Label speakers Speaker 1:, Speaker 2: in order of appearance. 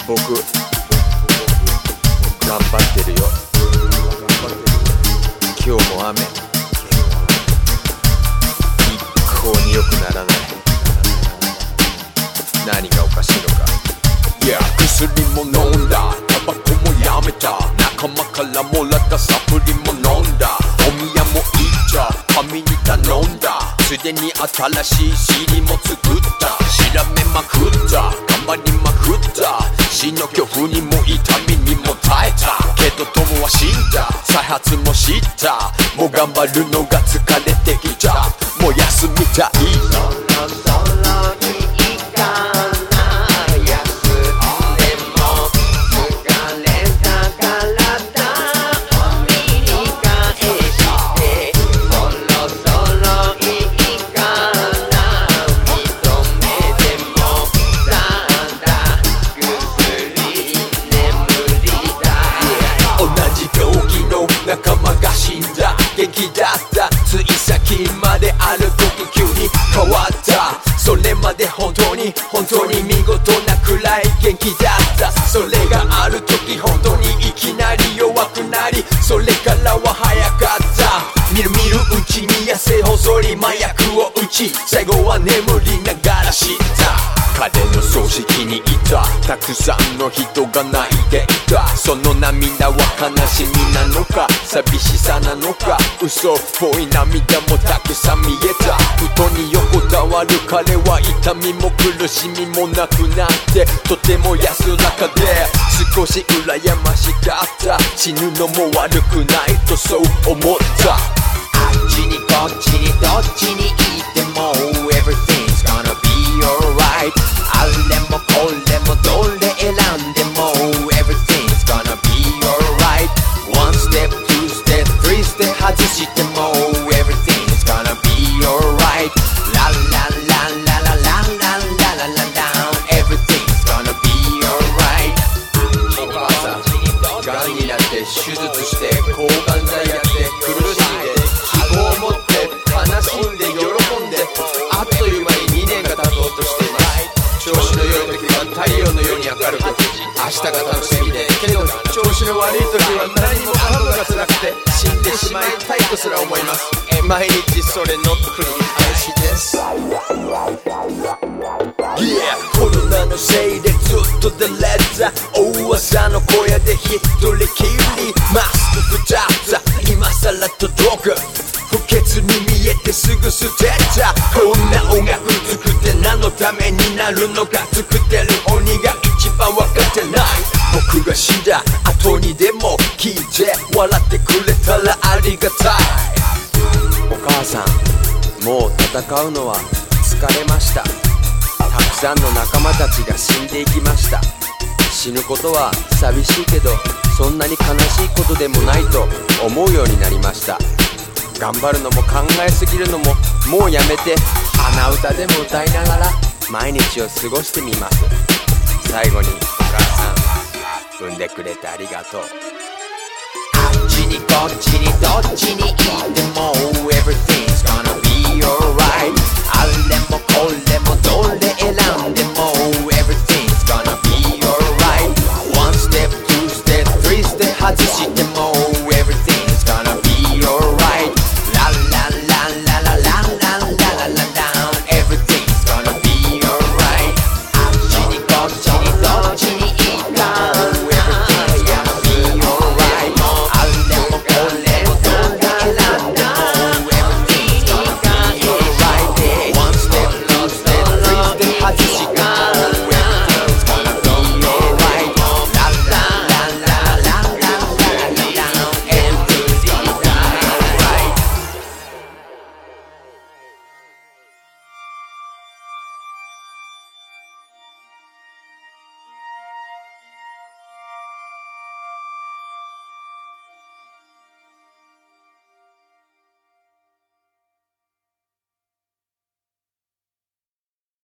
Speaker 1: 僕頑張ってるよ。今日も雨、一向に良くならない。何がおかしいのか。
Speaker 2: いや、薬も飲んだ、タバコもやめた、仲間からもらったサプリも飲んだ、お宮も行っちゃ神に頼んだ、すでに新しい尻も作った、調べまくった、頑張りまくった、死の恐怖にも痛みにも耐えたけど友は死んだ、再発も知った、もう頑張るのが疲れてきた、もう休みたい。仲間が死んだ、元気だった、つい先まである時急に変わった、それまで本当に見事なくらい元気だった、それがある時本当にいきなり弱くなり、それからは早かった、みるみるうちに痩せ細り麻薬を打ち、最後は眠りながら知った、彼の葬式にいたたくさんの人が泣いていた、その涙は悲しみなのか寂しさなのか、嘘っぽい涙もたくさん見えた、布団に横たわる彼は痛みも苦しみもなくなってとても安らかで、少し羨ましかった、死ぬのも悪くないとそう思った、あっちにこっちにどっちに行っても Everything's gonna be alright、 あれもこれもどれ選んでも Everything's gonna be alright、 One step, two step, three step 外しても Everything's gonna be alright、 La la la la la la la la la la la Everything's gonna be alright。 お母さんがんになって手術して抗がん剤やって苦しんで希望を持って悲しんで喜んで、あっという間に2年が経とうとしています。調子の良い時は太陽のように明るく、明日が楽しみで、けど調子の悪い時は何もかもが辛くて死んでしまいたいとすら思います。毎日それの繰り返しです。 Yeah、 コロナのせいでずっと出れた、大朝の小屋で一人きり、マスク2つ今さら届く、不潔に見えてすぐ捨てた、こんな音楽作って何のためになるのか、作ってる鬼が一番分かってない、僕が死んだ後にでも聞いて笑ってくれたらありがたい。
Speaker 1: お母さん、もう戦うのは疲れました。たくさんの仲間たちが死んでいきました。死ぬことは寂しいけどそんなに悲しいことでもないと思うようになりました。頑張るのも考えすぎるのももうやめて、鼻歌でも歌いながら毎日を過ごしてみます。最後にお母さん、産んでくれてありがとう。
Speaker 2: あっちにこっちにどっちに